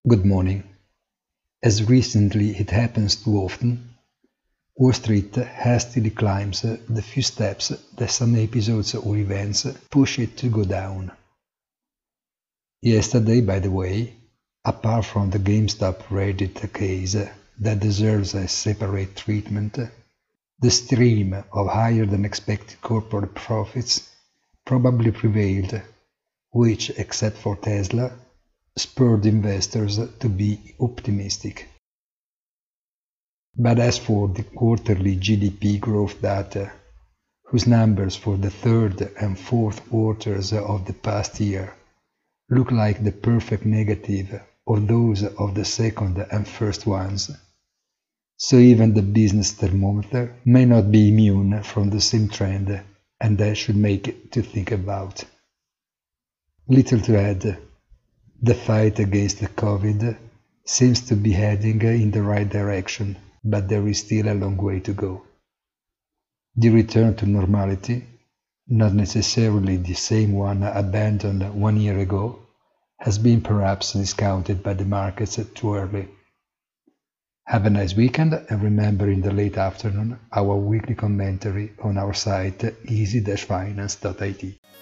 Good morning. As recently it happens too often, Wall Street hastily climbs the few steps that some episodes or events push it to go down. Yesterday, by the way, apart from the GameStop Reddit case that deserves a separate treatment, the stream of higher-than-expected corporate profits probably prevailed, which, except for Tesla, spurred investors to be optimistic. But as for the quarterly GDP growth data, whose numbers for the third and fourth quarters of the past year look like the perfect negative of those of the second and first ones, so even the business thermometer may not be immune from the same trend, and that should make it to think about. Little to add, the fight against the COVID seems to be heading in the right direction, but there is still a long way to go. The return to normality, not necessarily the same one abandoned 1 year ago, has been perhaps discounted by the markets too early. Have a nice weekend, and remember in the late afternoon our weekly commentary on our site easy-finance.it.